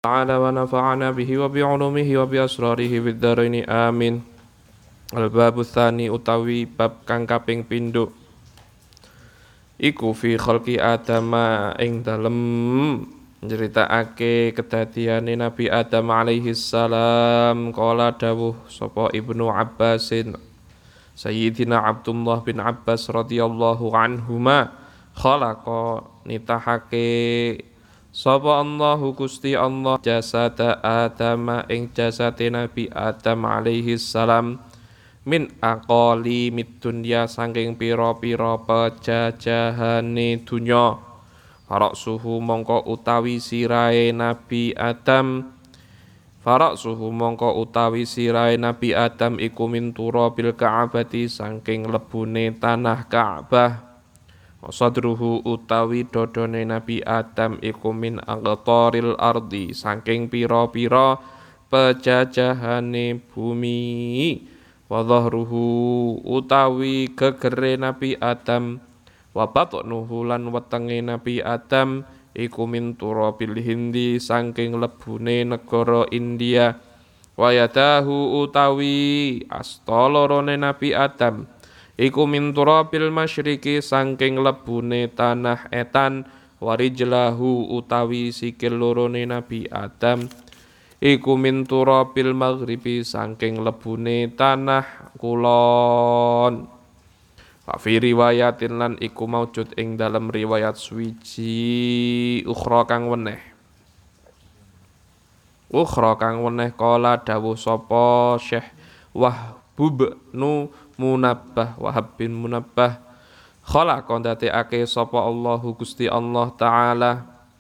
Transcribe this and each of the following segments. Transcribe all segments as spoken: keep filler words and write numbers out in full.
تعالى ونفعنا به وبعلومه وبأسراره في الدارين آمين. Al-babu tsani utawi bab kang kaping pindho iku fi khalqi Adama ing dalem nyeritakake kedadiane Nabi Adam alaihi salam. Qala dawuh sapa Ibnu Abbasin Sayyidina Abdullah bin Abbas radhiyallahu anhuma khalaqa nitahake sapa Allahu Gusti Allah jasada Adam ing jasate Nabi Adam alaihi salam min aqali mid dunya saking pira-pira pejajahane dunya. Farak suhu mongko utawi sirahe Nabi Adam Farak suhu mongko utawi sirahe Nabi Adam iku min turabil Ka'bati saking lebune tanah Ka'bah. Sadruhu utawi dodone Nabi Adam iku min aqtaril ardi saking pira-pira pejajahane bumi. Wa dhahruhu utawi gegere Nabi Adam wa batnuhu lan wetenge Nabi Adam iku min turabil Hindi saking lebune negara India. Wa yadahu utawi astolorone Nabi Adam iku min turabil masyriqi saking lebune tanah etan. Wa rijlahu utawi sikil lorone Nabi Adam iku min turabil maghribi saking lebune tanah kulon. Fa fi riwayatin lan iku maujud ing dalam riwayat suwiji ukhra kang weneh. Ukhra kang weneh kala dawuh sapa Syekh Wahbub nu Munabbah Wahab bin Munabbah khalaqa ndateake sapa Allahu Gusti Allah taala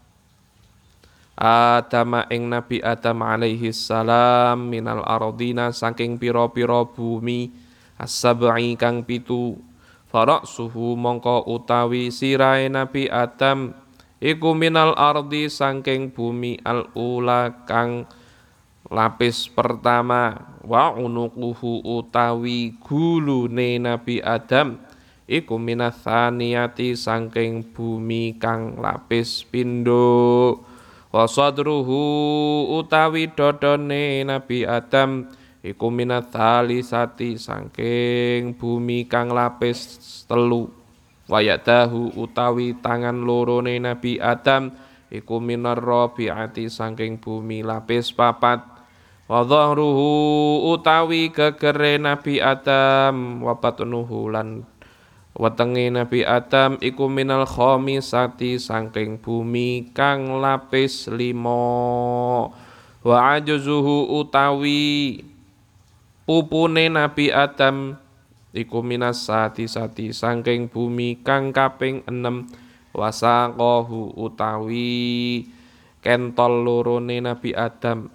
Adam ing Nabi Adam alaihi salam minal ardina saking pira-pira bumi as-sab'i kang pitu. Faraksuhu mongko utawi sirahe Nabi Adam iku minal ardi saking bumi al-ula kang lapis pertama. Wa unuquhu utawi gulune Nabi Adam iku minas tsaniyati saking bumi kang lapis pindho. Wa sadruhu utawi dodone Nabi Adam iku minat thalisati saking bumi kang lapis telu. Wa yadahu utawi tangan lorone Nabi Adam iku minar rabi'ati saking bumi lapis papat. Wa dhahruhu utawi gegere Nabi Adam wa batnuhu lan wetenge Nabi Adam iku minal khamisati saking bumi kang lapis limo. Wa ajuzuhu utawi pupune Nabi Adam iku minas sati sati saking bumi kang kaping enem. Wasaqahu utawi kentol lorone Nabi Adam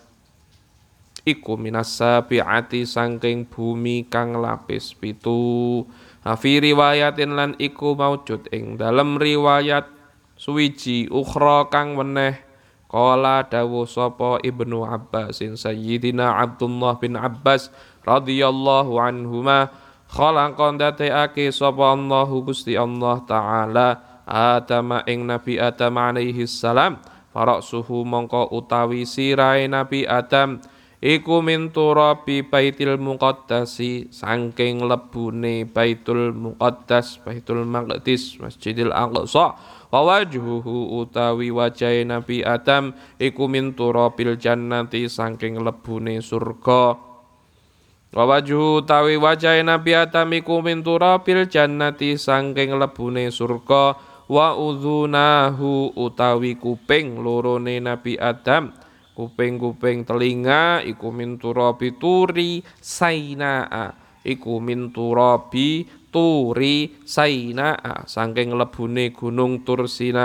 iku minas sabi'ati saking bumi kang lapis pitu. Fi riwayatin lan iku maujud ing dalam riwayat suwiji ukhra kang weneh qala dawuh sapa Ibnu Abbasin Sayyidina Abdullah bin Abbas radhiyallahu anhuma khalaqa ndateake sapa Allahu Gusti Allah taala Adam ing Nabi Adam alaihi salam. Faraksuhu mongko utawi sirahe Nabi Adam iku min turabi Baitul Muqaddasi saking lebune Baitul Muqaddas Baitul Maqdis Masjidil Aqsa. Wa wajhuhu utawi wajahe Nabi Adam iku min turabil jannati saking lebune surga. Wa wajhu utawi wajahe Nabi Adam iku min turabil jannati saking lebune surga. Wa udhunahu utawi kuping lorone Nabi Adam kuping-kuping telinga iku min turabi turi sainaa iku min turabi turi sainaa saking lebune gunung Tursina.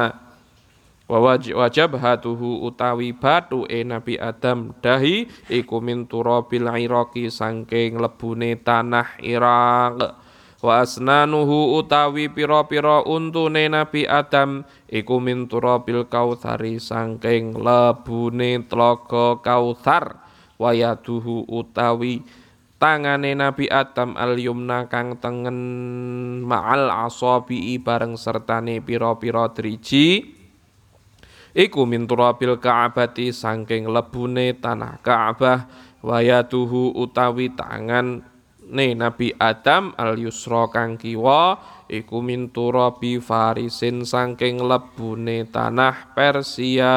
Wa wajabhatuhu utawi bathuke Nabi Adam dahi iku min turabil iraqi saking lebune tanah Irak. Wa asnanuhu utawi pira-pira untune Nabi Adam iku min turabil kautsari saking lebune tlaga Kautsar. Wa yaduhu utawi tangane Nabi Adam al-yumna kang tengen ma'al asabi bareng sertane pira-pira driji iku min turabil ka'bati saking lebune tanah Ka'bah, wayatuhu utawi tangan ne Nabi Adam al yusra kang kiwa iku min turabi farisin saking lebune tanah Persia.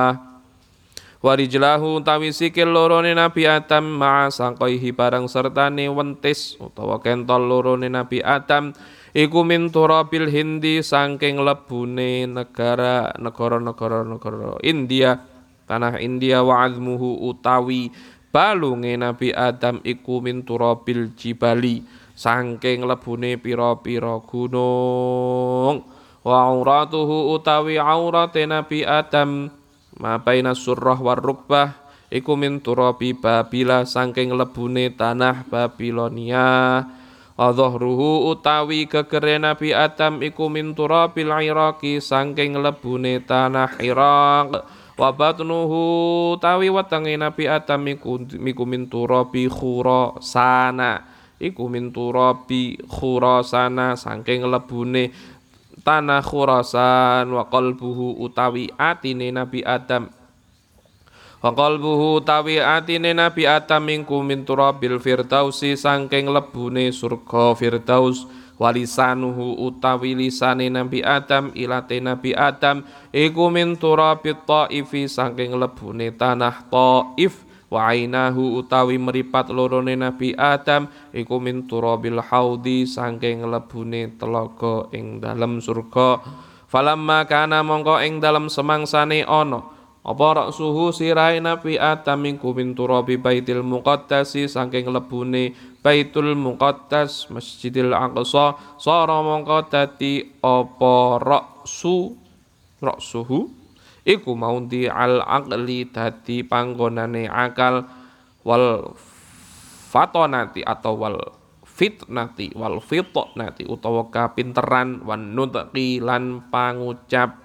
Warijlahu utawi sikil lorone Nabi Adam ma'a sangkoihi barang sertane wentis utawa kentol lorone Nabi Adam iku min turabil Hindi saking lebune negara negara-negara negara India, tanah India. Wa azmuhu utawi balunge Nabi Adam iku min turabil jibali saking lebune pira-pira gunung. Wa auratuhu utawi aurate Nabi Adam ma baina surrah war rukbah iku min turabi Babila saking lebune tanah Babilonia. Adhruhu utawi gegere Nabi Adam iku min turabil Iraqi saking lebune tanah Irak. Wa batnuhu utawi wetenge Nabi Adam iku miku min turabi Khurasana iku min turabi Khurasana saking lebune tanah Khurasan. Wa qalbuhu utawi atine Nabi Adam wa qalbuhu utawi atine Nabi Adam mingku min turabil firdausi saking lebune surga Firdaus. Walisanuhu utawi lisane Nabi Adam ilate Nabi Adam iku min turabit Thaifi saking lebune tanah Thaif. Wa ainahu utawi meripat lorone Nabi Adam iku min turabil haudi saking lebune telaga ing dalem surga. Falamma kana mongko ing dalem semangsane ana apa raksuhu sirai Nabi Adam iku min turabi Baitul Muqaddasi saking lebune Baitul Muqaddas Masjidil Aqsa. Sara mongko dadi apa raksu raksuhu iku maudi al aqli dadi panggonane akal, wal fatonati atau wal fitnati wal fitnati utawa kapinteran, wan nutqi lan pangucap.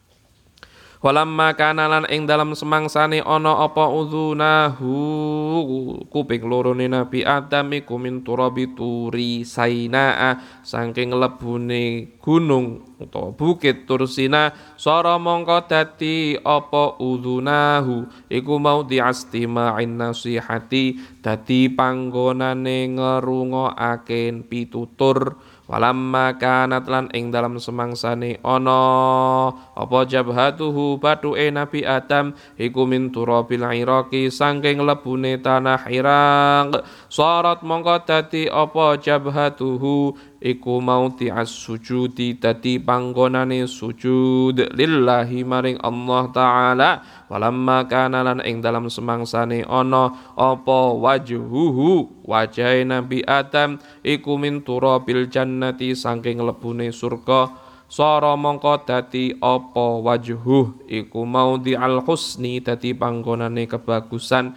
Walamma kana lan ing dalam semangsane ana apa udzunahu kuping lorone Nabi Adam iku min turabi turi Sainaa saking lebune gunung utawa bukit Tursina. Sara mongko dadi apa udzunahu iku mau diastima'in nasihati dadi panggonane ngerungokaken pitutur. Walamma kanat lan ing dalam semangsane ana apa jabhatuhu batuke Nabi Adam iku min turabil Iraqi saking lebune tanah Irak. Sarat mongko dadi apa jabhatuhu iku mauti as-sujudi dadi panggonane sujud lillahi maring Allah taala. Walamma kana lan ing dalam semangsane ana apa wajhuhu wajahe Nabi Adam iku min turabil jannati saking lebune surga. Sara mongko dadi apa wajhuh iku maudi al husni dadi panggonane kebagusan,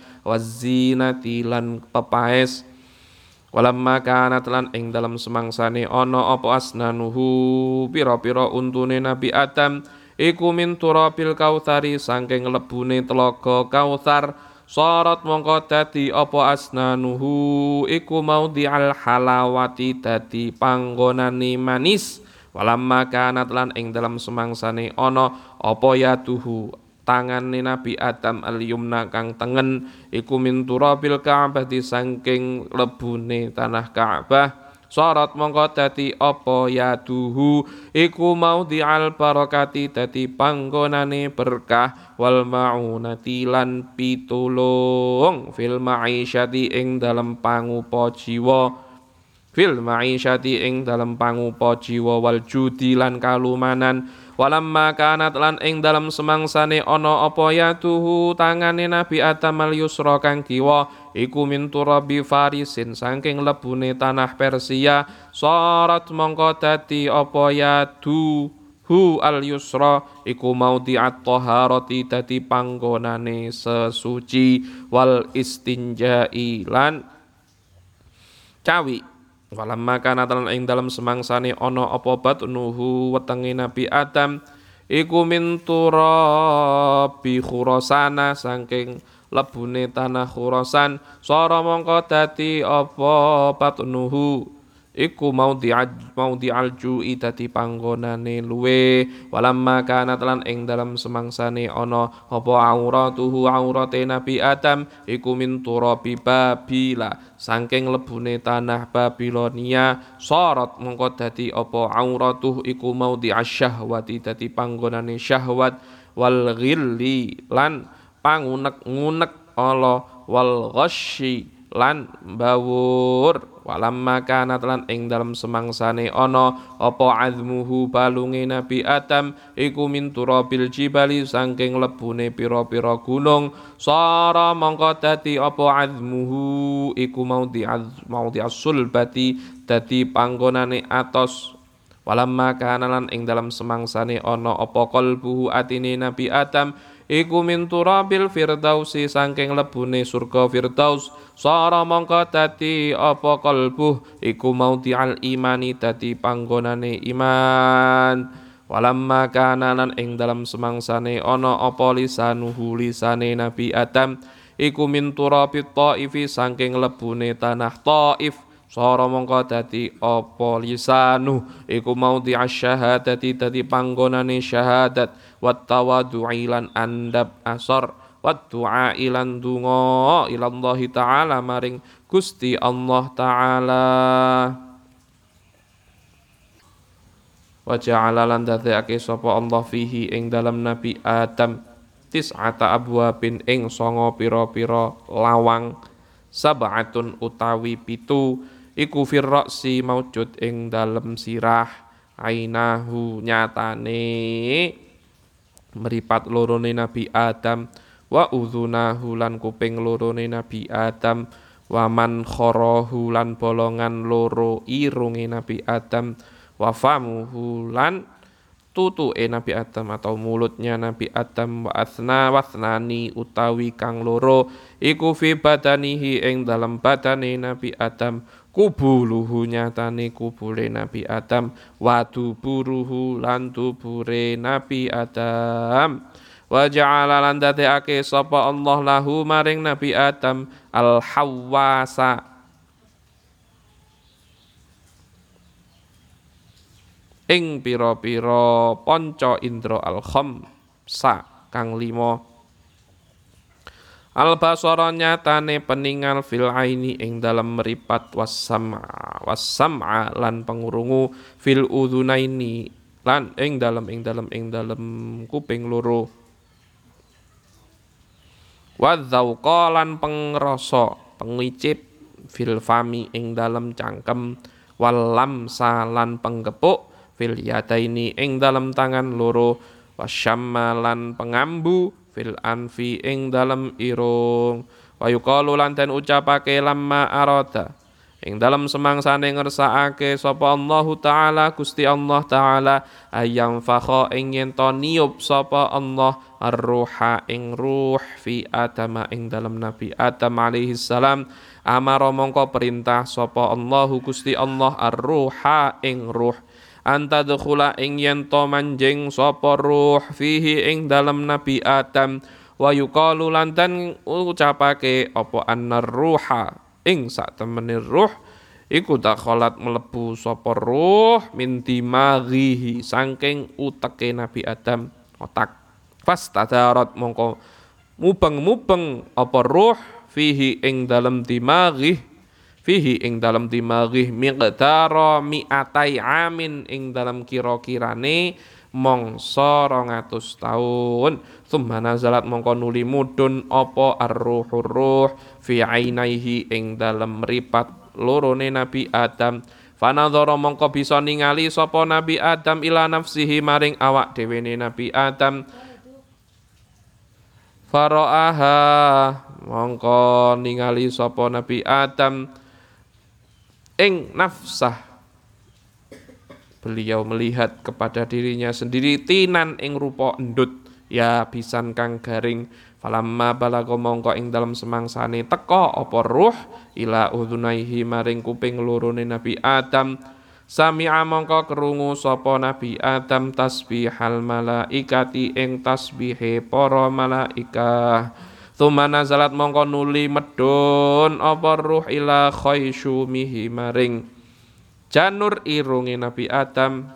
wazinati lan pepaes. Walamma kanat lan ing dalam semangsane ana apa asnanuhu pira-pira untune Nabi Adam iku min turabil kautsari saking lebune telaga Kautsar. Sarat mongko dadi apa asnanuhu iku maudi al halawati dadi panggonane manis. Walamma kanat lan ing dalam semangsane ana apa yaduhu tangane Nabi Adam al-yumna kang tengen iku min turabil Ka'bah saking lebune tanah Ka'bah. Sarat mongko dadi apa yaduhu iku maudi al barakati dadi panggonane berkah, wal maunati lan pitulung fil ma'isyati ing dalem pangupa jiwa fil ma'isyati ing dalem pangupa jiwa wal judi lan kalumanan. Walamma kanat lan ing dalam semangsane ana apa yaduhu tangane Nabi Adam al yusra kang kiwa iku min turabi farisin saking lebune tanah Persia. Sarat mongko dadi apa yaduhu al yusra iku maudhi'at taharati dadi panggonane sesuci, wal istinja'i lan cawi. Walamma kana talan ing dalam semangsane ana apa batnuhu wetenge Nabi Adam iku min turabi Khurasana saking lebune tanah Khurasan. Sara mongko dadi apa batnuhu iku maudhi'al maudhi'al ju'i dadi panggonane luwe walamma kana lan ing dalam semangsane ana apa auratuhu aurate Nabi Adam iku min turabi babila saking lebune tanah Babilonia sorot mongko dadi apa auratuh iku maudhi'asy syahwati dadi panggonane syahwat wal ghilli lan pangunek-ngunek ala wal ghasyi lan bawur walamma kana lan ing dalem semangsane ana apa azmuhu balunge Nabi Adam iku min turabil jibali saking lebune pira-pira gunung sara mongko dadi apa azmuhu iku maudhi maudhi as-sulbati dadi panggonane atos walamma kana lan ing dalem semangsane ana apa qalbuhu atine Nabi Adam iku min turabil firdausi saking lebune surga firdaus sara mongko dadi apa kalbuh iku maudhi'al imani dadi panggonane iman walamma kana lan ing dalam semangsane ana apa lisanuhu lisane Nabi Adam iku min turabit taifi saking lebune tanah Taif sara mongko dadi apa lisanu iku maudhi'asy syahadati dadi panggonane syahadat wat tawadhu'i lan andap asar wat du'a ilan donga ilallahi taala maring Gusti Allah taala wa ja'ala lan dadekake sapa Allah fihi ing dalam Nabi Adam tis'ata abwabin ing sanga pira-pira lawang sab'atun utawi pitu iku firra'si maujud ing dalem sirah ainahu nyatane meripat lorone Nabi Adam wa udhunahu lan kuping lorone Nabi Adam wa man kharahu lan bolongan loro irunge Nabi Adam wa famuhu lan tutuke Nabi Adam atau mulutnya Nabi Adam wa asna wasnani utawi kang loro iku fi badanihi ing dalam badane Nabi Adam kubuluhu nyatane kubule Nabi Adam wa duburuhu lan dubure Nabi Adam wa ja'ala lan dadekake sapa Allah lahu maring Nabi Adam al hawasa ing pira-pira panca indra al khamsa kang lima al basara nyatane peningal fil aini ing dalam meripat wasam'a wasam'a lan pengurungu fil udhunaini lan ing dalam ing dalam ing dalam kuping loro wadzauqa lan pengrasa pengicip fil fami ing dalam cangkem wal lamsa lan penggepuk fil yadaini ing dalam tangan loro wasyamma lan pengambu fil anfi ing dalem irung wa yuqalu lan den ucapake lamma arada ing dalem semangsane ngersakake sapa Allahu taala Gusti Allah taala ayam fakha ing yen to niup sapa Allah ar-ruha ing ruh fi Adam ing dalem Nabi Adam alaihi salam amara mongko perintah sapa Allahu Gusti Allah ar-ruha ing ruh anta dukhula ing yen to manjing sapa ruh fihi ing dalem Nabi Adam wa yuqalu lan den ucapake apa annar ruha ing sak temene ruh iku dakhalat mlebu sapa ruh min dimaghihi saking uteke Nabi Adam otak fastadarat mongko mubeng-mubeng apa ruh fihi ing dalem dimaghi fihi ing dalam dimagih miqdara mi'atai amin ing dalam kira-kirane mangsa rong atus taun tsumma nazalat mongko nuli mudhun apa ar-ruhur ruh fi ainaihi ing dalam mripat lorone Nabi Adam fanadzara mongko bisa ningali sapa Nabi Adam ila nafsihi maring awak dhewene Nabi Adam faraaha mongko ningali sapa Nabi Adam ing nafsah beliau melihat kepada dirinya sendiri tinan ing rupa endut ya pisan kang garing falamma balaga mongko ing dalem semangsane teka apa ruh ila udhunaihi maring kuping lorone Nabi Adam sami'a mongko krungu sapa Nabi Adam tasbihal malaikati ing tasbihe para malaikah tsumma nazalat mongko nuli medhun apa ruh ila khaysyumihi maring janur irunge Nabi Adam,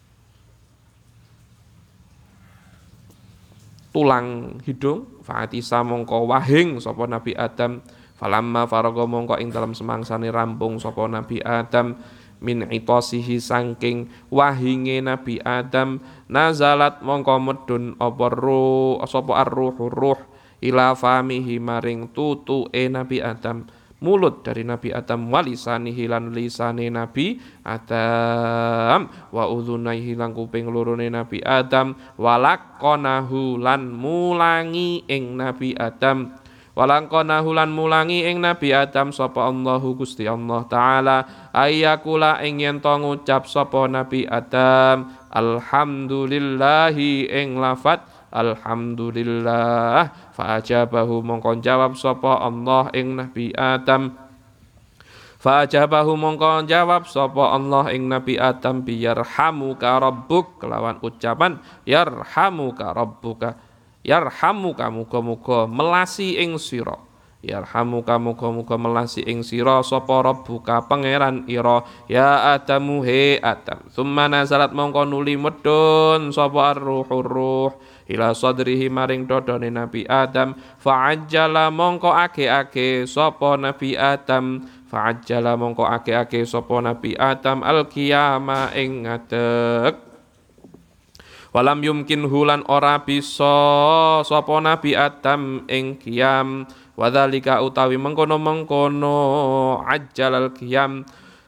tulang hidung, fa'atisa mongko wahing sapa Nabi Adam, falamma faraga mongko ing dalam semangsane rampung sapa Nabi Adam, min itasihi saking wahinge Nabi Adam, nazalat mongko medun apa ruh sapa ar-ruh ruh ila famihi maring tutuke Nabi Adam, mulut dari Nabi Adam, walisanihi lan lisane Nabi Adam, wa udhunaihi lan kuping lorone Nabi Adam, walaqonahu lan mulangi ing Nabi Adam, walaqonahu lan mulangi ing Nabi Adam sapa Allahu Gusti Allah taala, ayyakula ing yen to ngucap sapa Nabi Adam, alhamdulillahi ing lafat alhamdulillah, fa'ajabahu mongko jawab sapa Allah ing Nabi Adam, fa'ajabahu mongko jawab sapa Allah ing Nabi Adam, biyarhamuka rabbuk, kelawan ucapan yarhamuka rabbuka, yarhamuka muga-muga melasi ing sira, yarhamuka muga-muga melasi ing sira sapa rabbuka pangeran ira, ya Adamu he Adam, summa nazalat mongko nuli medun sapa ar-ruhur ruh ila sadrihi maring dodone Nabi Adam, fa'ajjala mongko age-age sapa Nabi Adam, fa'ajjala mongko age-age sapa Nabi Adam al-qiyama ing ngadeg, walam yumkin hulan ora bisa sapa Nabi Adam ing qiyam, wadzalika utawi mengkono-mengkono ajjalal qiyam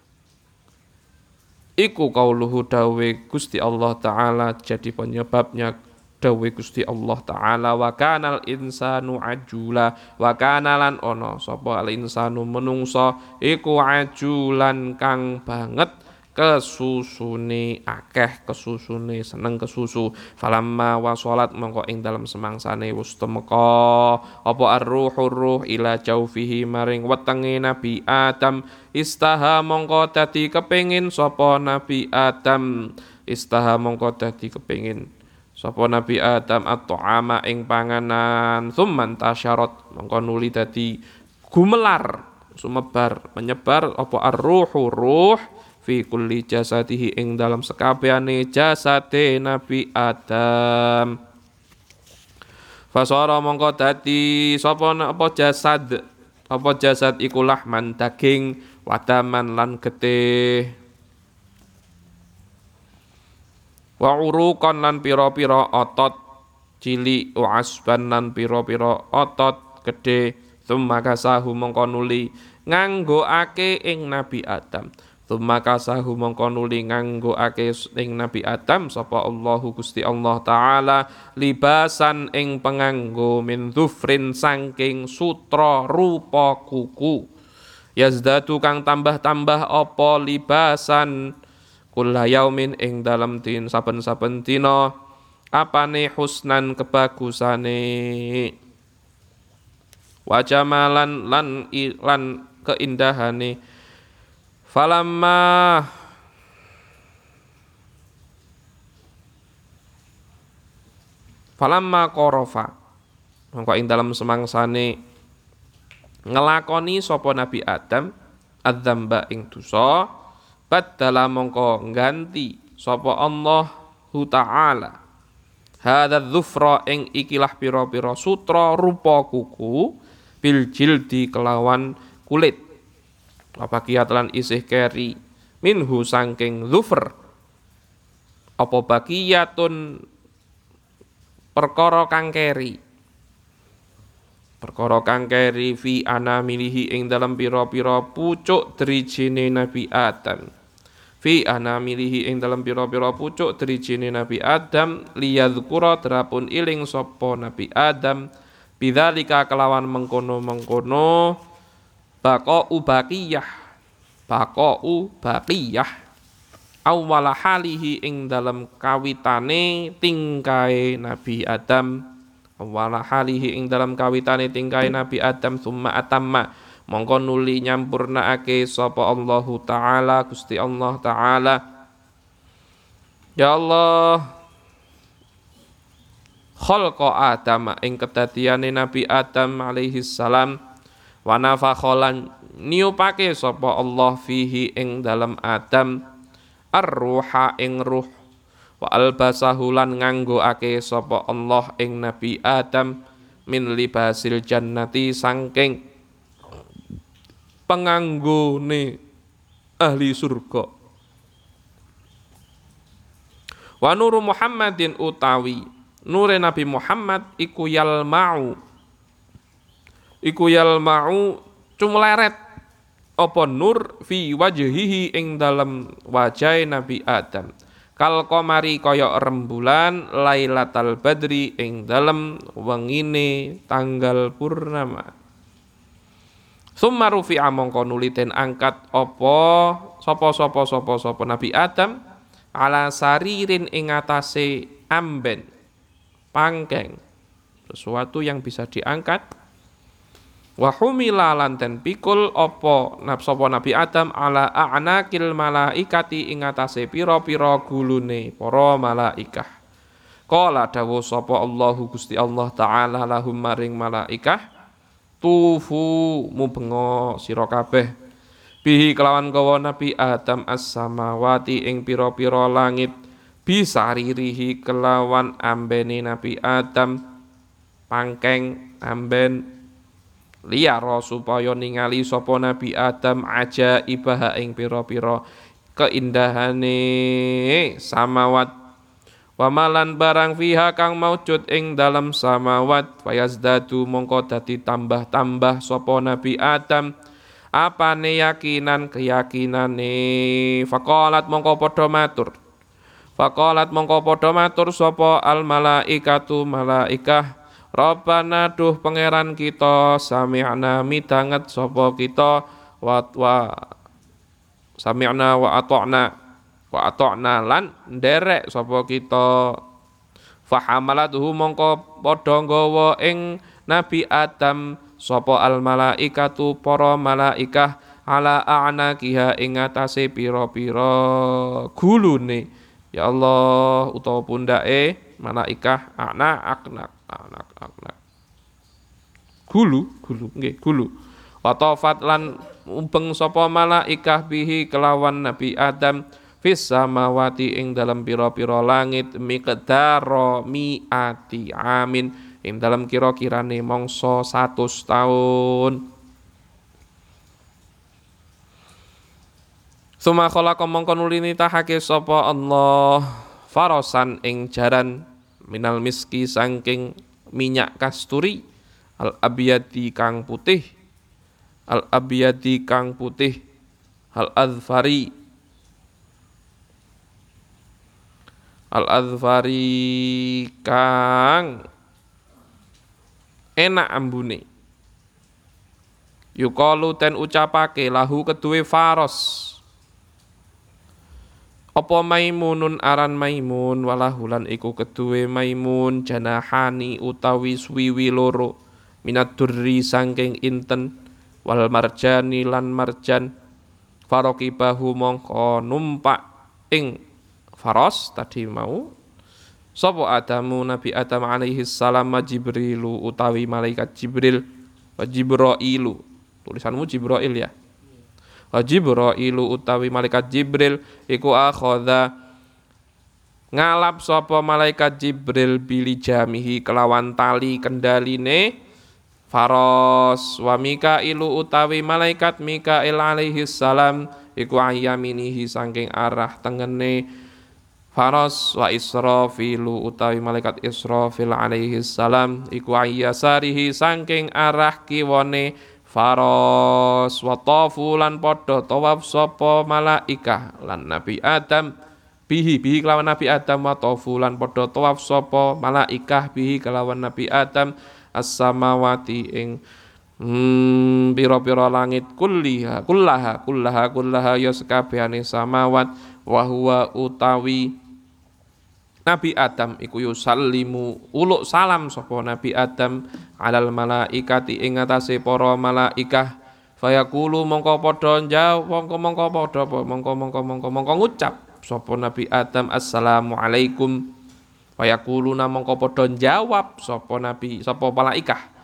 iku qauluhu dawe Gusti Allah taala, jadi penyebabnya dawe Gusti Allah taala, wa kanal insanu ajula, wa kanalan ono sapa al insanu menungso iku ajulan kang banget kesusune akeh, kesusune seneng kesusu, falamma wasolat mongko ing dalam semangsane wis temeka apa ar-ruhur ruh ila jaufihi maring wetenge Nabi Adam, istaha mongko dadi kepengin sapa Nabi Adam, istaha mongko dadi kepengin sapa Nabi Adam at-ta'ama ing panganan, tsumman tasyarat mongko nuli dadi gumelar sumebar menyebar apa ar-ruhu ruh fi kulli jasadihi ing dalam sekabehane jasade Nabi Adam, fasara mongko dadi sapa apa jasad, apa jasad iku lahman daging, wadaman lan getih, wa uruqan lan pira-pira otot cilik, wa asban lan pira-pira otot gedhe, tsumma kasahu mongko nuli nganggoake ing Nabi Adam, tsumma kasahu mongko nuli nganggoake ing Nabi Adam sapa Allahu Gusti Allah taala, libasan ing penganggo min dhufrin saking sutra rupa kuku, yazdatu kang tambah-tambah apa libasan kulla yaumin ing dalam din saben-saben dina, apane husnan kebagusane, wa jamalan lan lan keindahane, falamma falamma qarafa mongko ing dalam semangsane ngelakoni sapa Nabi Adam adzamba ing dosa, badala mongko ganti sapa Allahu taala hadza dzufra ing ikilah pira-pira sutra rupa kuku, bil jildi kelawan kulit, apa kiat lan isih keri, minhu sangking dzufr apa bakiyatun perkara kang keri, perkara kang keri fi anamilihi ing dalam pira-pira pucuk drijine Nabi Adam, fi anamilihi ing dalam pira-pira pucuk drijine Nabi Adam, liyadzkura terapun iling sapa Nabi Adam, bidzalika kelawan mengkono-mengkono baqa'u baqiyah, baqa'u baqiyah awwala halihi ing dalam kawitane tingkae Nabi Adam, awwala halihi ing dalam kawitane tingkae Nabi Adam, summa atamma mongko nuli nyampurnaake sapa Allahu taala Gusti Allah taala, ya Allah khalqa Adam ing kedadiane Nabi Adam alaihi salam, Wa nafakholan niupake sapa Allah fihi ing dalam Adam ar-ruha ing ruh. Wa albasahu lan nganggoake sapa Allah ing Nabi Adam min libasil jannati sangking penganggone ahli surga. Wa nuru Muhammadin utawi nure Nabi Muhammad iku yalma'u iku yalma'u cumleret apa nur fi wajhihi ing dalem wajah Nabi Adam kal qamari kaya rembulan lailatal badri ing dalem wengine tanggal purnama. Summa rufi'a mongko nuli den angkat apa sapa-sapa sapa-sapa Nabi Adam ala saririn ing atase amben pangkeng sesuatu yang bisa diangkat. Wa humila lan den pikul apa sapa Nabi Adam ala a'naqil malaikati ing atase pira-pira gulune para malaikah. Qala dawuh sapa Allahu Gusti Allah taala lahum maring malaikah tufu mubengo sira kabeh bihi kelawan gawa Nabi Adam as-samawati ing pira-pira langit bisaririhi kelawan ambene Nabi Adam pangkeng amben liyara supaya ningali sapa Nabi Adam ajaibah ing pira-pira keindahane samawat wa malan barang fiha kang maujud ing dalam samawat fayazdadu mongko dadi tambah-tambah sapa Nabi Adam apane yakinan keyakinane faqalat mongko padha matur faqalat mongko padha matur sapa al malaikatu malaikah Rabbana duh pangeran kita sami'na midanget sapa kita wa wa sami'na wa ata'na wa ata'na lan nderek sapa kita fahamalatuhu mongko padha nggawa ing Nabi Adam sapa al malaikatu para malaikah ala a'naqiha ing atase pira-pira gulune ya Allah utawa pundake malaikah ana aknak anak aknak gulu gulu nggih gulu wa tafat lan umpeng sapa malaikah bihi kelawan Nabi Adam fis samawati ing dalam pira-pira langit miqdaro mi'ati amin ing dalam kira-kirane mangsa seratus tahun. Suma khalaqa mongko nulini tahake sapa Allah farasan ing jaran minal miski saking minyak kasturi al abyadi kang putih al abyadi kang putih al azfari Al-Adhfari kang enak ambune yukalu ten ucapake lahu keduwe faros apa maimunun aran maimun walahulan iku keduwe maimun janahani utawi swiwi loro minat durri sangking inten wal marjani lan marjan farokibahu mongko numpak ing faros tadi mau sapa Adamu Nabi Adam alaihi salam Jibrilu utawi malaikat Jibril wa Jibrailu tulisanmu Jibrail ya wa Jibrailu utawi malaikat Jibril iku akhadha ngalap sapa malaikat Jibril bili jamihi kelawan tali kendaline faros wa Mikailu utawi malaikat Mikail alaihi salam iku ayaminihi saking arah tengene faros wa Israfilu utawi malaikat Israfil alaihi salam iku ayyasarihi saking arah kiwane faros wa tafu lan padha tawaf sapa malaikah lan Nabi Adam bihi bihi kelawan Nabi Adam wa tafu lan padha tawaf sapa malaikah bihi kelawan Nabi Adam as-samawati ing hmm, pira-pira langit kulliha kullaha kullaha kullaha ya sekabehane samawat wa huwa utawi Nabi Adam iku yusallimu uluk salam sapa Nabi Adam alal malaikati ing atase para malaikah fayaqulu mongko padha njawab mongko mongko padha mongko mongko mongko mongko ngucap sapa Nabi Adam assalamu alaikum fayaquluna mongko padha njawab sapa Nabi sapa malaikah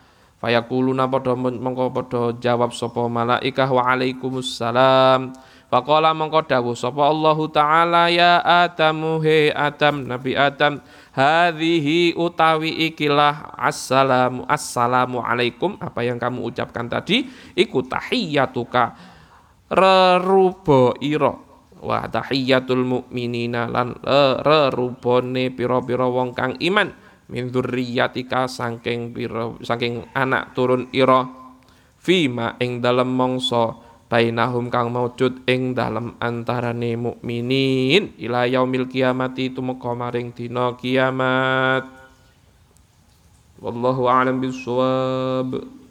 Fayaquluna padha mengko padha jawab sapa malaikah wa alaikumussalam. Faqala mengko dawuh sapa Allahu taala ya Adamu he Adam Nabi Adam hadhihi utawi ikilah assalamu assalamu alaikum apa yang kamu ucapkan tadi iku tahiyyatuka rerubo ira wa tahiyyatul mukminina lan rerubone pira-pira wong kang iman min dzurriyyatika saking pira saking anak turun ira fima ing dalem mangsa bainahum kang maujud ing dalem antarane mukminin ila yaumil kiamati tumeka maring dina kiamat wallahu a'lam bissawab.